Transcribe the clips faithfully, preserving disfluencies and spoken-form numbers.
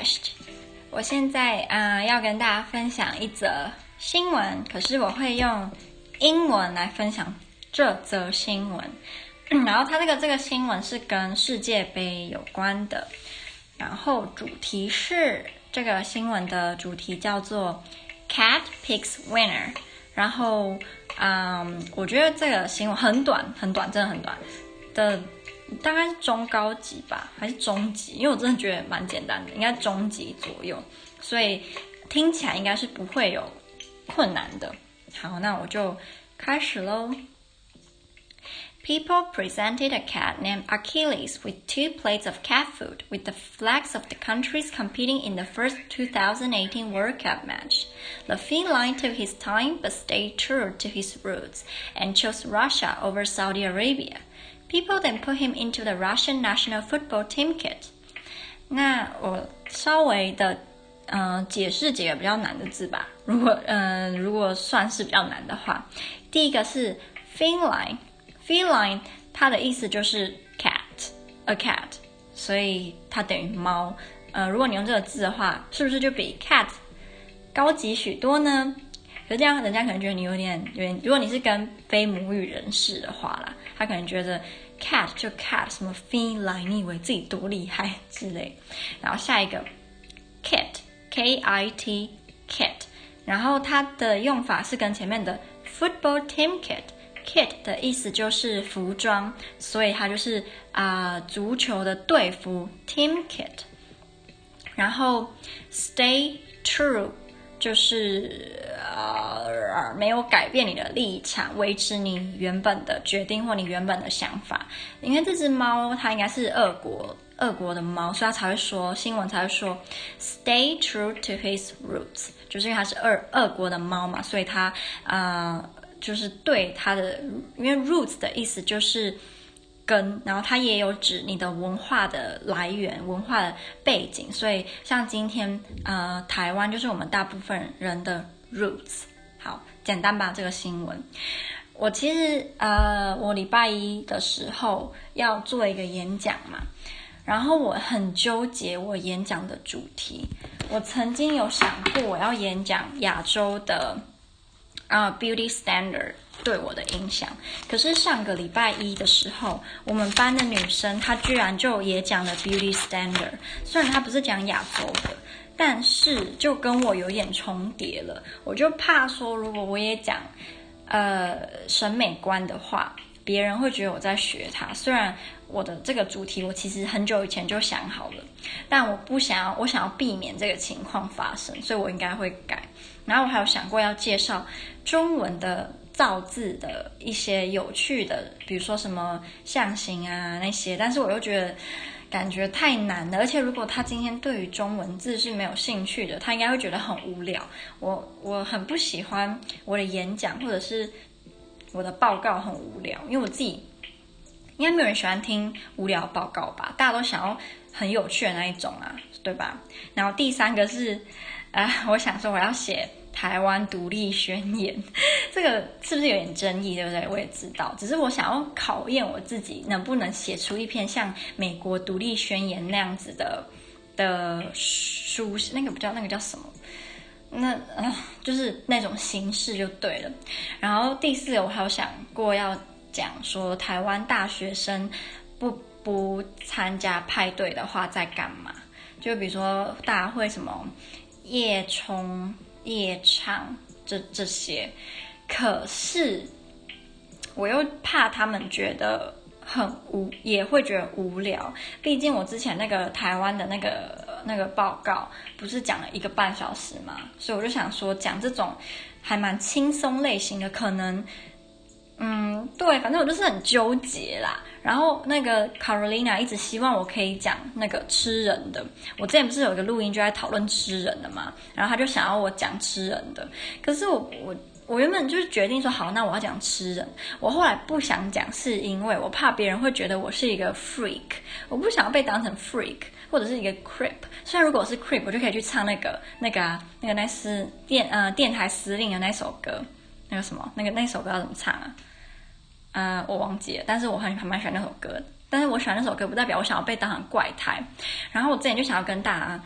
Cześć，我現在啊、呃、要跟大家分享一則新聞，可是我會用英文來分享這則新聞。嗯、然後它這個這個新聞是跟世界盃有關的，然後主題是這個新聞的主題叫做 Cat Picks Winner。然後嗯，我覺得這個新聞很短很短，真的很短的。大概是中高級吧，還是中級？因為我真的覺得蠻簡單的，應該中級左右，所以聽起來應該是不會有困難的。好，那我就開始嘍。People presented a cat named Achilles with two plates of cat food with the flags of the countries competing in the first two thousand eighteen World Cup match. The feline took his time but stayed true to his roots and chose Russia over Saudi Arabia.People then put him into the Russian national football team kit. 那我稍微的呃解釋幾個比較難的字吧。如果呃如果算是比較難的話，第一個是 feline。feline 它的意思就是 cat，a cat， 所以它等於貓。呃，如果你用這個字的話，是不是就比 cat 高級許多呢？可是這樣人家可能覺得你有點有點，如果你是跟非母語人士的話啦，他可能覺得 cat 就 cat 什麼 feline， 你以為自己多厲害之類。然後下一個 kit K I T kit， 然後它的用法是跟前面的 football team kit kit 的意思就是服裝，所以它就是啊、呃、足球的隊服 team kit。然後 stay true。就是呃沒有改變你的立場，維持你原本的決定或你原本的想法。因為這隻貓它應該是俄國俄國的貓，所以它才會說新聞才會說 stay true to his roots， 就是因為它是俄俄國的貓嘛，所以它呃就是對它的，因為 roots 的意思就是根，然後它也有指你的文化的來源、文化的背景，所以像今天呃台灣就是我們大部分人的 roots。好，簡單吧這個新聞。我其實呃我禮拜一的時候要做一個演講嘛，然後我很糾結我演講的主題。我曾經有想過我要演講亞洲的啊、uh, beauty standard對我的影響，可是上個禮拜一的時候，我們班的女生她居然就也講了 beauty standard， 雖然她不是講亞洲的，但是就跟我有點重疊了。我就怕說，如果我也講呃審美觀的話，別人會覺得我在學她。雖然我的這個主題我其實很久以前就想好了，但我不想要，我想要避免這個情況發生，所以我應該會改。然後我還有想過要介紹中文的造字的一些有趣的，比如說什麼象形啊那些，但是我又覺得感覺太難了，而且如果他今天對於中文字是沒有興趣的，他應該會覺得很無聊。我我很不喜歡我的演講或者是我的報告很無聊，因為我自己應該沒有人喜歡聽無聊報告吧，大家都想要很有趣的那一種啊，對吧？然後第三個是呃，我想說我要寫台灣獨立宣言，這個是不是有點爭議，對不對？我也知道，只是我想要考驗我自己能不能寫出一篇像美國獨立宣言那樣子的的書，那個不叫那個叫什麼？那呃，就是那種形式就對了。然後第四個，我還有想過要講說台灣大學生不不參加派對的話在幹嘛？就比如說大家會什麼夜衝、夜唱這這些，可是我又怕他們覺得很無，也會覺得無聊。畢竟我之前那個台灣的那個那個報告不是講了一個半小時嘛，所以我就想說講這種還蠻輕鬆類型的，可能嗯對，反正我就是很糾結啦。然後那個 Carolina 一直希望我可以講那個吃人的，我之前不是有一個錄音就在討論吃人的嘛，然後他就想要我講吃人的，可是我我我原本就是決定說好，那我要講吃人。我後來不想講，是因為我怕別人會覺得我是一個 freak， 我不想要被當成 freak 或者是一個 creep。雖然如果我是 creep， 我就可以去唱那個那個啊那個那司電呃電台司令的那首歌，那個什麼那個那首歌要怎麼唱啊？呃，我忘記了，但是我很還蠻喜歡那首歌的。但是我喜歡那首歌，不代表我想要被當成怪胎。然後我之前就想要跟大家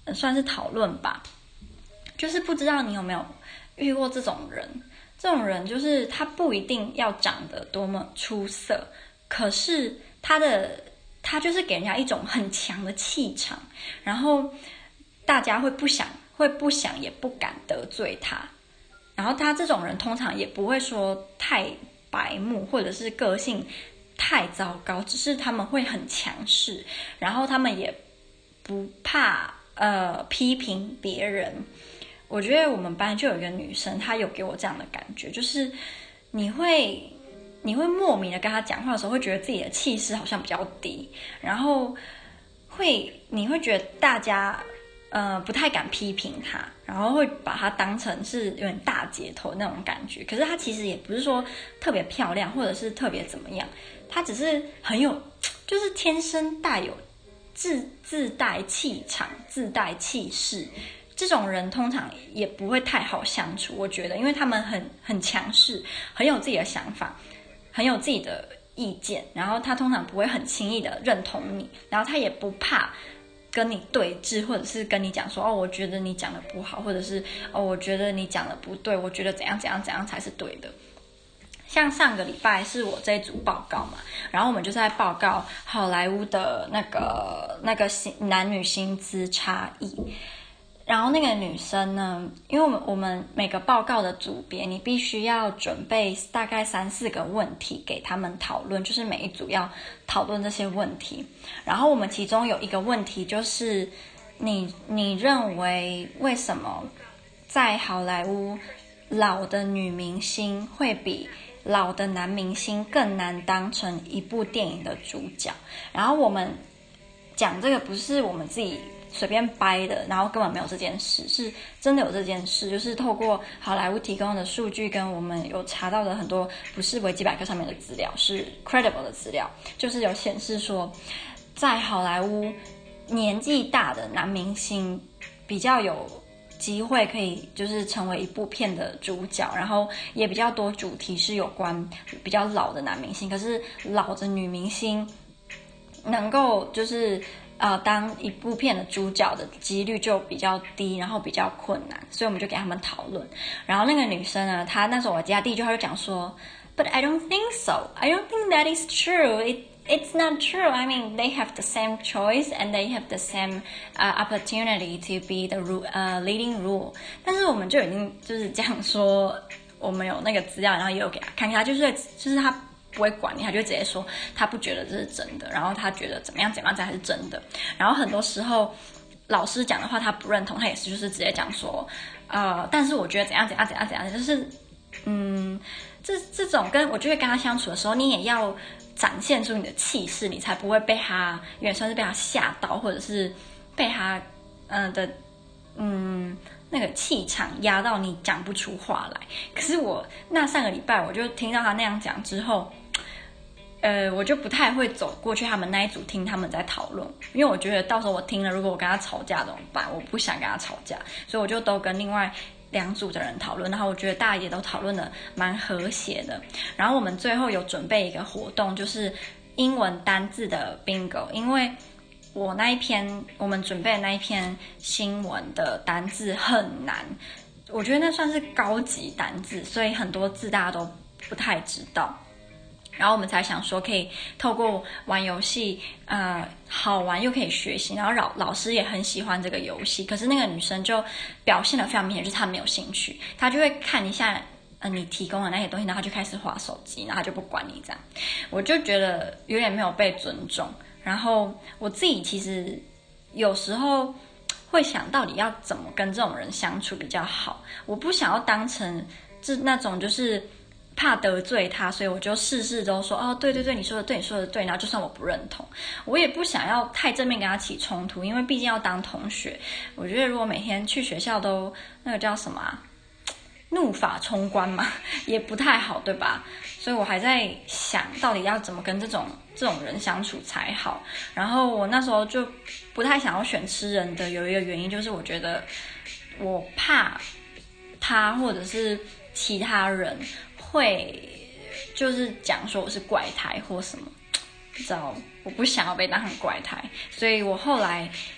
算是討論吧，就是不知道你有沒有遇過這種人。這種人就是他不一定要長得多麼出色，可是他的他就是給人家一種很強的氣場，然後大家會不想會不想也不敢得罪他。然後他這種人通常也不會說太白目，或者是個性太糟糕，只是他們會很強勢，然後他們也不怕呃批評別人。我覺得我們班就有一個女生，她有給我這樣的感覺，就是你會你會莫名的跟她講話的時候，會覺得自己的氣勢好像比較低，然後會你會覺得大家呃不太敢批評她，然後會把她當成是有點大姐頭那種感覺。可是她其實也不是說特別漂亮，或者是特別怎麼樣，她只是很有，就是天生帶有自自帶氣場、自帶氣勢。這種人通常也不會太好相處，我覺得，因為他們很很強勢，很有自己的想法，很有自己的意見，然後他通常不會很輕易的認同你，然後他也不怕跟你對峙，或者是跟你講說，哦，我覺得你講的不好，或者是哦，我覺得你講的不對，我覺得怎樣怎樣怎樣才是對的。像上個禮拜是我這一組報告嘛，然後我們就在報告好萊塢的那個那個薪男女薪資差異。然後那個女生呢，因為我們我們每個報告的組別，你必須要準備大概三四個問題給他們討論，就是每一組要討論這些問題。然後我們其中有一個問題就是你，你你認為為什麼在好萊塢老的女明星會比老的男明星更難當成一部電影的主角？然後我們講這個不是我們自己隨便掰的，然後根本沒有這件事，是真的有這件事，就是透過好萊塢提供的數據跟我們有查到的很多不是維基百科上面的資料，是 credible 的資料，就是有顯示說，在好萊塢年紀大的男明星比較有機會可以就是成為一部片的主角，然後也比較多主題是有關比較老的男明星，可是老的女明星能夠就是呃，當一部片的主角的幾率就比較低，然後比較困難，所以我們就給他們討論。然後那個女生呢，她那時候我記得第一句話就講說 ，But I don't think so. I don't think that is true. It it's not true. I mean, they have the same choice and they have the same uh, opportunity to be the uh, leading role. 但是我們就已經就是講說，我們有那個資料，然後也有給他看看，他就是就是他。不會管你，他就直接說他不覺得這是真的，然後他覺得怎麼樣怎麼樣才是真的。然後很多時候老師講的話他不認同，他也是就是直接講說，呃，但是我覺得怎樣怎樣怎樣怎樣，就是嗯，這這種跟我覺得跟他相處的時候，你也要展現出你的氣勢，你才不會被他有點算是被他嚇到，或者是被他嗯、呃、的嗯。那個氣場壓到你講不出話來。可是我那上個禮拜我就聽到他那樣講之後，呃，我就不太會走過去他們那一組聽他們在討論，因為我覺得到時候我聽了，如果我跟他吵架怎麼辦？我不想跟他吵架，所以我就都跟另外兩組的人討論，然後我覺得大家也都討論得蠻和諧的。然後我們最後有準備一個活動，就是英文單字的 bingo， 因為我那一篇我們準備的那一篇新聞的單字很難，我覺得那算是高級單字，所以很多字大家都不太知道。然後我們才想說，可以透過玩遊戲，呃，好玩又可以學習。然後老老師也很喜歡這個遊戲，可是那個女生就表現得非常明顯，就是她沒有興趣，她就會看一下呃你提供的那些東西，然後她就開始滑手機，然後她就不管你這樣。我就覺得有點沒有被尊重。然後我自己其實有時候會想到底要怎麼跟這種人相處比較好。我不想要當成是那種就是怕得罪他，所以我就事事都說哦，對對對，你說的對，你說的對，然後就算我不認同，我也不想要太正面跟他起衝突，因為畢竟要當同學。我覺得如果每天去學校都那個叫什麼啊，怒髮衝冠嘛，也不太好，對吧？所以我還在想到底要怎麼跟這種這種人相處才好。然後我那時候就不太想要選吃人的，有一個原因就是我覺得我怕他或者是其他人會就是講說我是怪胎或什麼，不知道，我不想要被當成怪胎，所以我後來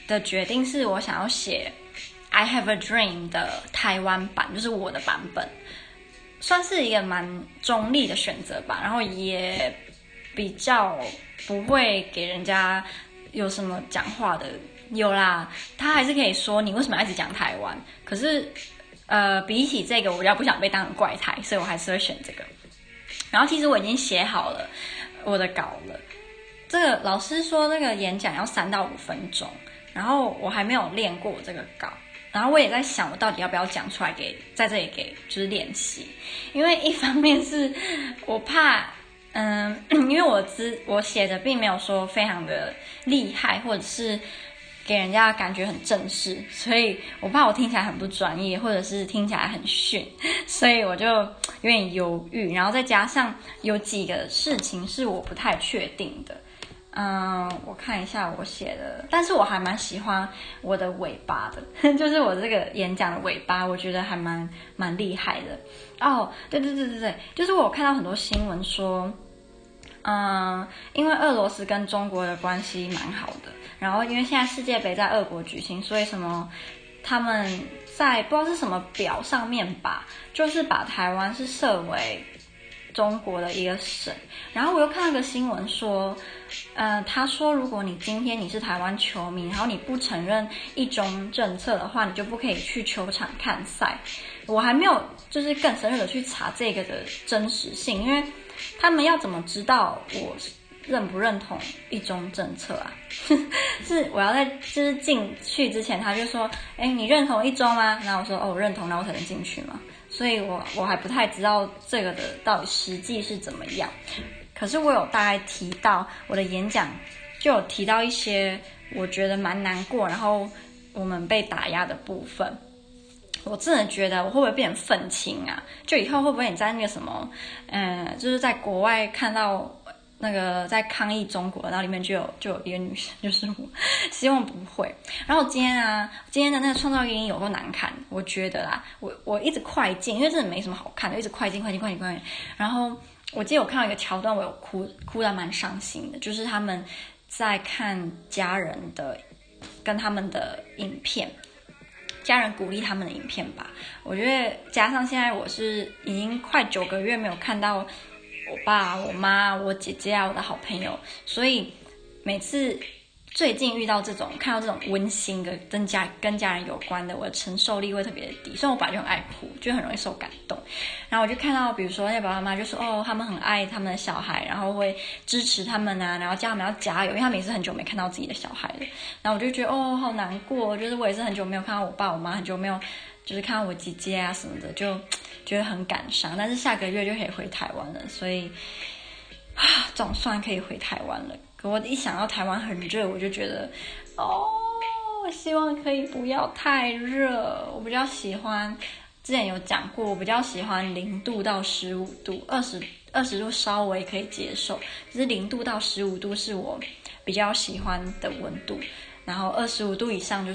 的決定是我想要寫 I Have a Dream 的台灣版，就是我的版本，算是一個蠻中立的選擇吧，然後也比較不會給人家有什麼講話的。有啦，他還是可以說你為什麼要一直講台灣，可是呃，比起這個我比較不想被當成怪胎，所以我還是會選這個。然後其實我已經寫好了我的稿了，這個老師說那個演講要三到五分鐘，然後我還沒有練過這個稿，然後我也在想我到底要不要講出來給在這裡給就是練習，因為一方面是我怕嗯，因為我知我寫的並沒有說非常的厲害，或者是給人家感覺很正式，所以我怕我聽起來很不專業，或者是聽起來很遜，所以我就有點猶豫。然後再加上有幾個事情是我不太確定的，嗯，我看一下我寫的，但是我還蠻喜歡我的尾巴的，就是我這個演講的尾巴，我覺得還蠻蠻厲害的。哦，對對對對對，就是我有看到很多新聞說，嗯，因為俄羅斯跟中國的關係蠻好的。然後，因為現在世界杯在俄國舉行，所以什麼他們在不知道是什麼表上面吧，就是把台灣是設為中國的一個省。然後我又看到一個新聞說，呃，他說如果你今天你是台灣球迷，然後你不承認一中政策的話，你就不可以去球場看賽。我還沒有就是更深入的去查這個的真實性，因為他們要怎麼知道我認不認同一中政策啊？是我要在就是進去之前，他就說：“哎，你認同一中嗎？”然後我說：“哦，我認同，然後我才能進去嘛。”所以我我還不太知道這個的到底實際是怎麼樣。可是我有大概提到我的演講，就有提到一些我覺得蠻難過，然後我們被打壓的部分。我真的覺得我會不會變成憤青啊？就以後會不會你在那個什麼，嗯，就是在國外看到那個在抗議中國，然後裡面就有就有一個女生，就是我，希望不會。然後今天啊，今天的那個創造語音有夠難看，我覺得啦，我我一直快進，因為真的沒什麼好看的，一直快進快進快進快進。然後我記得我看到一個橋段，我有哭哭得蠻傷心的，就是他們在看家人的跟他們的影片。家人鼓勵他們的影片吧，我覺得加上現在我是已經快九個月沒有看到我爸、我媽、我姐姐啊，我的好朋友，所以每次最近遇到這種看到這種溫馨的跟家跟家人有關的，我的承受力會特別的低。雖然我本來就很愛哭，就很容易受感動。然後我就看到，比如說那爸爸媽媽就說哦，他們很愛他們的小孩，然後會支持他們啊，然後叫他們要加油，因為他們也是很久沒看到自己的小孩了。然後我就覺得哦，好難過，就是我也是很久沒有看到我爸我媽，很久沒有就是看到我姐姐啊什麼的，就覺得很感傷。但是下個月就可以回台灣了，所以啊，總算可以回台灣了。可我一想到台灣很熱，我就覺得哦，希望可以不要太熱。我比較喜歡，之前有講過，我比較喜歡零度到十五度，二十二十度稍微可以接受，只是零度到十五度是我比較喜歡的溫度，然後二十五度以上就是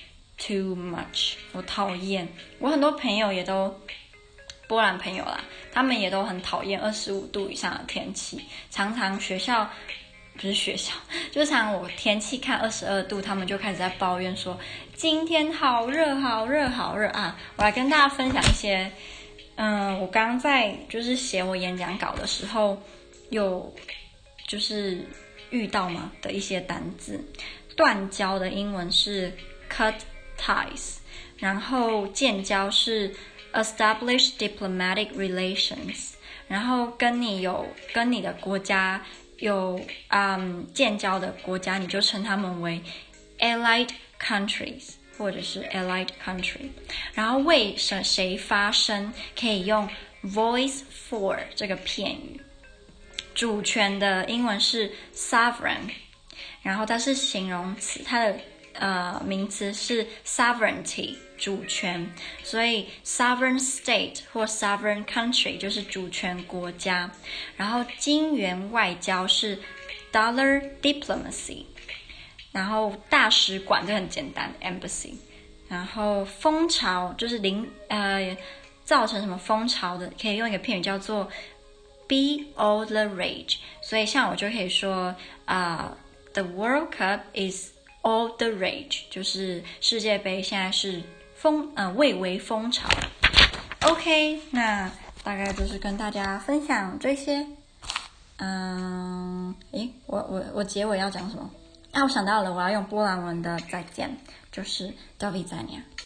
too much， 我討厭。我很多朋友也都波蘭朋友啦，他們也都很討厭二十五度以上的天氣，常常學校。不是學校，就是常常我天氣看二十二度，他們就開始在抱怨說今天好熱好熱好熱啊！我來跟大家分享一些，嗯，我剛剛在就是寫我演講稿的時候，有就是遇到嘛的一些單字。斷交的英文是 cut ties， 然後建交是 establish diplomatic relations， 然後跟你有跟你的國家有嗯建交的國家，你就稱他們為 allied countries 或者是 allied country。然後為誰發聲可以用 voice for 這個片語。主權的英文是 sovereign， 然後它是形容詞，它的呃名詞是 sovereignty 主權，所以 sovereign state 或 sovereign country 就是主權國家。然後金元外交是 dollar diplomacy， 然後大使館這很簡單 embassy， 然後風潮就是零呃造成什麼風潮的，可以用一個片語叫做 be all the rage， 所以像我就可以說啊、uh, the World Cup is all the rage， 就是世界杯現在是風呃蔚為風潮。OK， 那大概就是跟大家分享這些。嗯，誒，我我我結尾要講什麼？啊，我想到了，我要用波蘭文的再見，就是 do widzenia。